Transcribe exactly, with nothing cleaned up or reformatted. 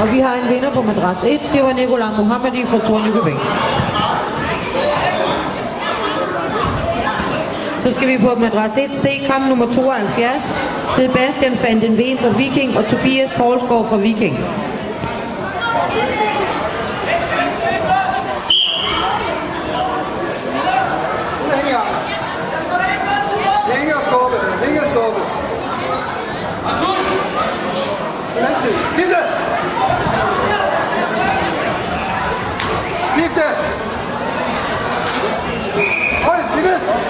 Og vi har en vinder på madras et. Det var Nicolai Mohammadi fra Tornykøbing. Så skal vi på madras et C, kamp nummer tooghalvfjerds. Sebastian van den Veen fra Viking og Tobias Poulsgaard fra Viking.